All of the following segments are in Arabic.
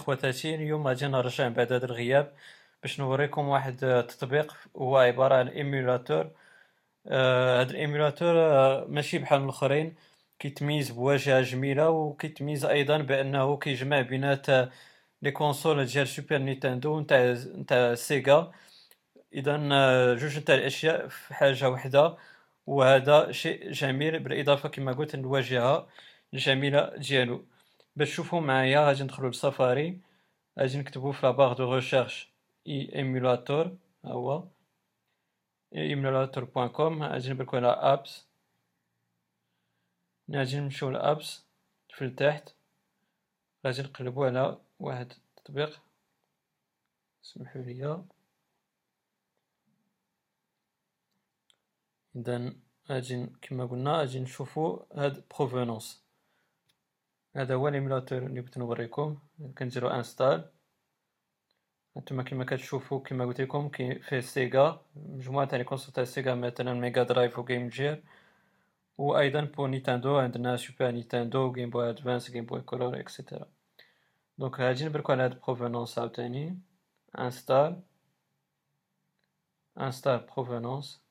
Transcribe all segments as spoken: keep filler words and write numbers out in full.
الاخوة تاتين. اليوم غادي نرجع من بعد هذا الغياب باش نوريكم واحد التطبيق هو عبارة عن ايميولاتور. آه، هذا الايميولاتور آه، ماشي بحال الاخرين، كيتميز بواجهة جميلة وكيتميز ايضا بانه كيجمع بينات لي كونسول ديال سوبر نينتندو نتاع نتاع سيجا. اذا آه، جوج نتاع الاشياء في حاجة واحدة، وهذا شيء جميل بالاضافة كما قلت للواجهة الجميلة ديالو. باش تشوفوا معايا غادي ندخلوا لسفاري، غادي نكتبوا في لاباغ دو ريشيرش اي ايميولاتور، ها هو ايميولاتور بوان كوم. غادي نبركو على ابس، غادي نمشيو لابس في التحت، غادي نقلبوا على واحد التطبيق، سمحوا لي. اذا غادي كما قلنا غادي نشوفوا هاد بروفونونس. هذا هو الايميولاتور اللي بغيت نوريكم. كنديرو انستال. هانتوما كما كتشوفوا كما قلت لكم كاين فيه سيجا، مجموعه تاع لي كونسول تاع سيجا مثلا ميغا درايف وجيم جير، وايضا بور نينتندو عندنا سوبر نينتندو، جيم بوي ادفانس، جيم بوي كولور اكسيتيرا. دونك غادي نبركو على هاد بروفونونس عاوتاني، انستال انستال بروفونونس.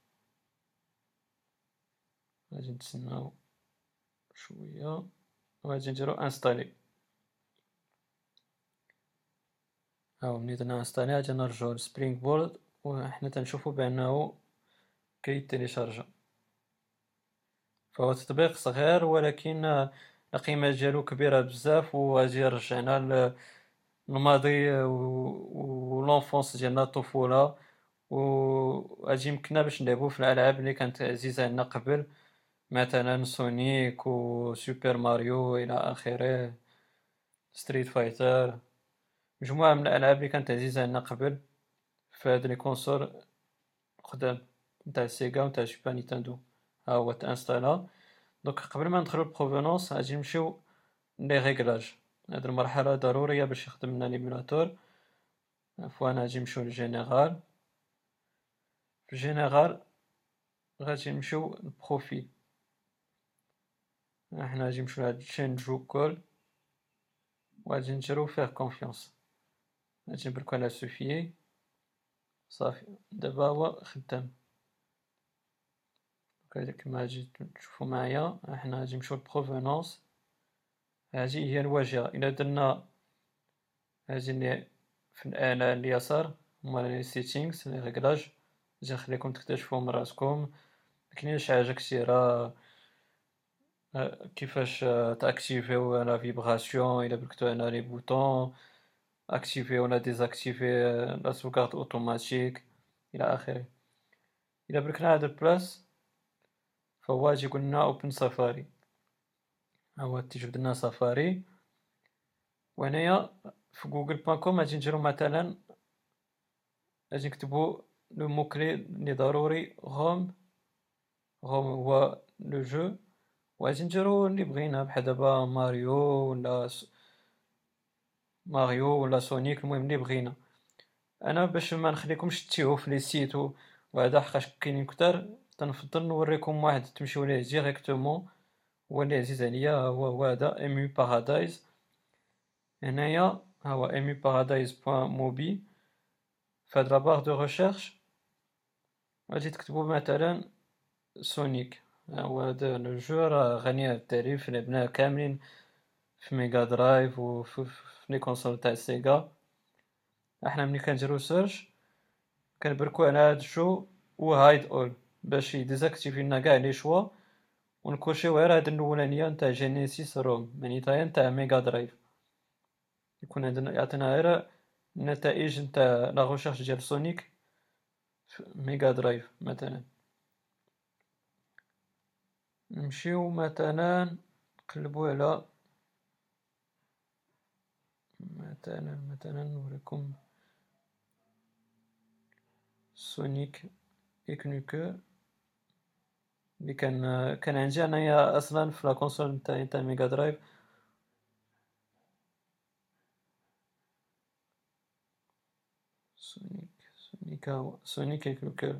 غادي نتسناو شويه وغادي نديرو انستالي. هاو ملي درنا انستالي غادي نرجعو لسبرينغ بورد وحنا تنشوفو بانه كيتيليشارجا. فهو تطبيق صغير ولكن القيمة ديالو كبيرة بزاف، وغادي يرجعنا للماضي و لونفونس ديالنا، الطفولة، وغادي يمكننا باش نلعبو في الالعاب اللي كانت عزيزة علينا قبل، مثلا سونيك و سوبر ماريو الى اخره، ستريت فايتر، مجموعة من الالعاب اللي كانت عزيزة علينا قبل في هاد لي كونسول قدام نتاع سيجا ونتاع سوبر نينتندو. ها هو تانستالا. دونك قبل ما ندخلو للبروفونونس غادي نمشيو لي ريغلاج. هاد المرحلة ضرورية باش يخدم لنا ليميولاتور. عفوا غادي نمشيو لجينيرال. في جينيرال غادي نمشيو للبروفيل، حنا غادي نمشيو لهاد تشينج جو كول وغادي نديرو فيه كونفيونس. غادي نبركو على سوفيي. صافي دابا هو خدام. كما غادي تشوفو معايا حنا غادي نمشيو للبروفونونس. هذه هي الواجهة. إلا درنا هذه اللي في الأعلى اليسار هما لي سيتينغز لي ريغلاج، غادي نخليكم تكتشفوا من راسكم. مكاينش حاجة كثيرة كيفاش تاكتيفيو لا فيبراسيون، إلا بركتو على لي بوطون اكتيفي ولا ديزاكتيفي لا سوغارد اوتوماتيك الى اخره. الى بركنا هاد البلاص فهو غادي يقول لنا اوبن سفاري. ها هو تيجبد لنا سفاري. وهنايا في جوجل بوان كوم غادي نديرو مثلا، غادي نكتبو لو مو كلي اللي ضروري روم. روم هو لو جو، وغادي نديرو اللي بغينا بحال دابا ماريو ولا س... ماريو ولا سونيك، المهم اللي بغينا. انا باش ما نخليكمش تيهو في لي سيت وهذا حقاش كاينين كتار، تنفضل نوريكم واحد تمشيو ليه ديريكتومون. هو اللي عزيز عليا هو هو هذا ايميو بارادايز. هنايا ها هو ايميو بارادايز بوان موبي. في هاد لاباغ دو ريشيرش غادي تكتبو مثلا سونيك. ها هو هذا لو جو راه غني عن التعريف، لعبناه كاملين في ميغا درايف وفي لي كونسول تاع سيجا. احنا ملي كنديرو سيرش كنبركو على هاد الشو و هايد اول باش يديزاكتيفي لنا كاع لي شوا، ونكوشيو غير هاد الاولانيه نتاع جينيسيس روم، معناتها نتاع ميغا درايف. يكون عندنا يعطينا غير النتائج نتاع لا ريشيرش ديال سونيك في ميغا درايف مثلا. نمشيو مثلا نقلبو على مثلا مثلا نوريكم سونيك اكنوكو اللي كان كان عندي انايا اصلا في لا كونسول نتاعي نتاع ميغا درايف. سونيك سونيك ها هو سونيك اكنوكو.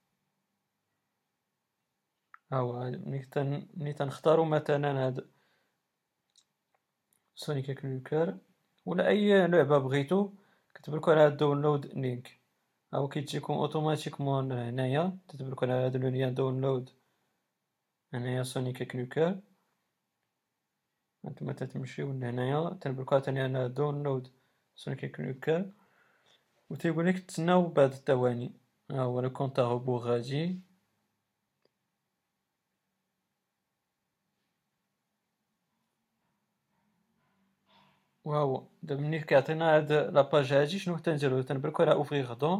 ها هو ملي تن ملي تنختارو مثلا هاد سونيك اكنوكو ولا اي لعبه بغيتو كتبركو على داونلود لينك، هاو كيجيكم اوتوماتيكمون هنايا، تتبركو على هاد لو لين داونلود هنايا سونيك كنوكر. هانتوما تتمشيو لهنايا تنبركو عاوتاني على داونلود سونيك كنوكر، و تيقولك تسناو بعض الثواني. ها هو لو كونط ا روبور غادي. وها هو دابا ملي كيعطينا هاد لاباج هادي شنو تنديرو؟ تنبركو على اوفريغ دون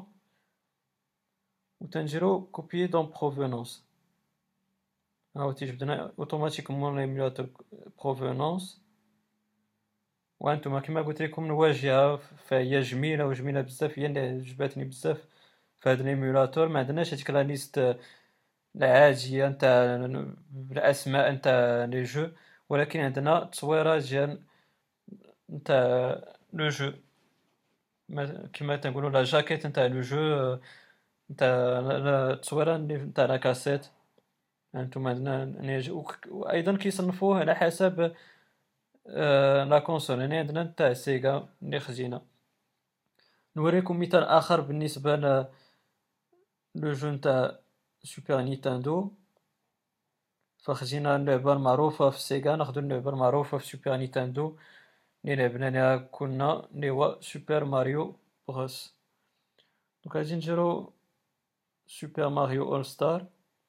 و تنديرو كوبيي دون بروفونونس. ها هو تيجبدنا اوتوماتيكمون ليميلاتور بروفونونس. وانتم كما قلت لكم الواجهه فهي جميله وجميله بزاف، هي اللي عجبتني بزاف في هذا الايميولاتور. ما عندناش هذيك لا ليست العاديه نتاع الاسماء نتاع لي جو، ولكن عندنا تصويره ديال نتاع لو جو، كما تنقولوا لا جاكيت نتاع لو جو، نتاع التصويره نتاع لا كاسيت. انتم عندنا وايضا كيصنفوه على حسب آه لا كونسول. يعني عندنا نتاع سيجا اللي خزينه. نوريكم مثال اخر بالنسبه ل لو جو نتاع سوبر نينتندو. فخزينا اللعبه المعروفه في سيجا، ناخذ اللعبه المعروفه في سوبر نينتندو اللي لعبنا لها كنا، اللي هو سوبر ماريو بروس. دونك غادي نديرو سوبر ماريو اول ستار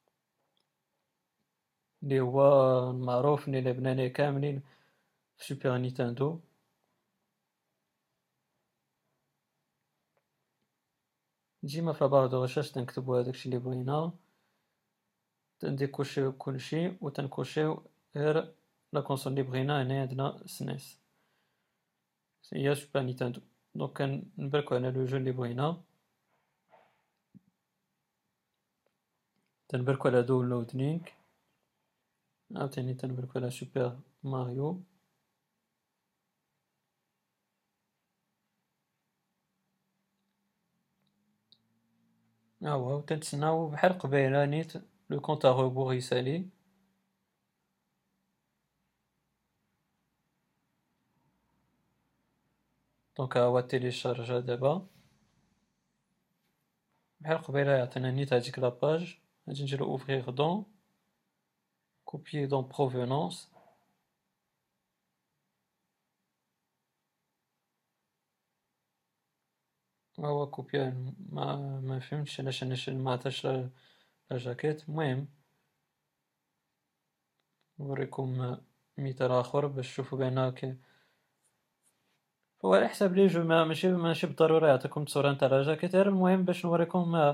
اللي هو المعروف اللي لعبنا ليه كاملين في سوبر نينتندو. ديما في لابار دو ريشيرش تنكتبو هداكشي اللي بغينا، تنديكوشيو كلشي و تنكوشيو غير لا كونسول اللي بغينا. هنا عندنا سنيس هي سوبر نينتندو. دونك كنبركو على لو جو اللي بغينا، تنبركو على داونلود لينك، عاوتاني تنبركو على سوبر ماريو. ها هو تنتسناو بحال قبيله نيت لو كونط ا روبور يسالي. دونك ها هو تيليشارجا دابا بحال قبيله، يعطينا نيت هاديك لاباج. غادي نديرو اوفريغ دون كوبيي دون بروفونونس. ها هو كوبيا. ما ما فهمتش علاش انا ما عطاش لا جاكيت. المهم نوريكم مثال اخر باش تشوفوا بان كاين. هو على حساب لي جو ماشي ماشي بالضرورة يعطيكم الصورة نتاع لا جاكيت، غير المهم باش نوريكم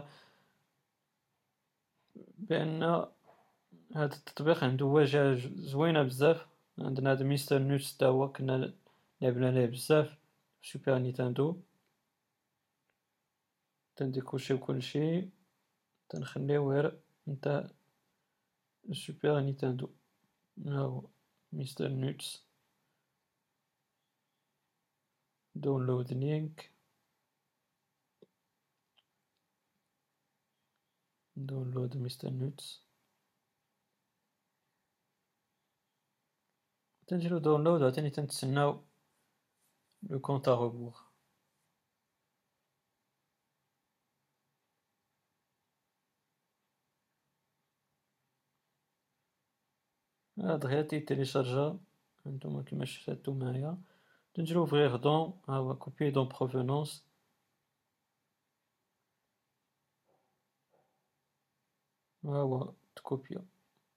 بان هاد التطبيق عنده واجهة زوينة بزاف. عندنا هاد ميستر نوتس تا هو كنا لعبنا ليه بزاف في سوبر نينتندو. تنديكوشيو كلشي، تنخليو غير نتاع سوبر نينتندو. ها هو ميستر نوتس، داونلود لينك، داونلود ميستر نوتس. تنديرو داونلود عاوتاني تنتسناو لو كونط ا روبور. دغيا تيتيليشارجا هانتوما كيما شفتو معايا. تنديرو اوفريغ دون، ها هو كوبيي دون بروفونونس. ها هو تكوبيا.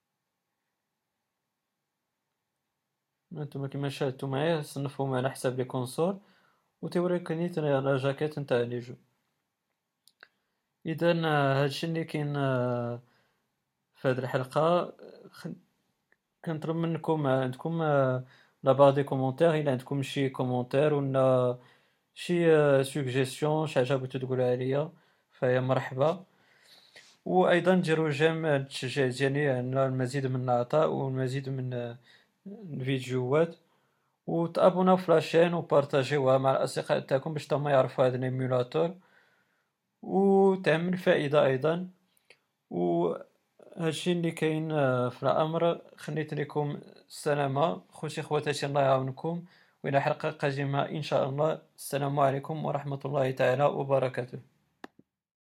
هانتوما كيما شاهدتو معايا صنفهم على حساب لي كونسول، و تيوريك نيت لا جاكيت نتاع لي جو. اذا هادشي اللي كاين في هاد الحلقة. كنطلب منكم عندكم لا بار دي كومونتير، الا عندكم شي كومونتير ولا شي سوجيستيون شي حاجه بغيتو تقولها ليا فهي مرحبا. وايضا ديروا جيم التشجيع ديالي على المزيد من العطاء والمزيد من الفيديوهات، وتابوناو في لاشين وبارطاجيوها مع الاصدقاء تاعكم باش تما يعرفوا هذا الايميولاتور وتعمل فائده ايضا. وهادشي اللي كاين في الامر. خليت لكم السلامه خوتي خواتاتي، الله يعاونكم وإلى حلقة قادمة إن شاء الله. السلام عليكم ورحمة الله تعالى وبركاته.